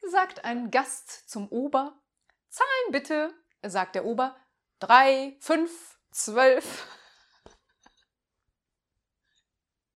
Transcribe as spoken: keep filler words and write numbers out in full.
sagt ein Gast zum Ober. Zahlen bitte, sagt der Ober. Drei, fünf, zwölf.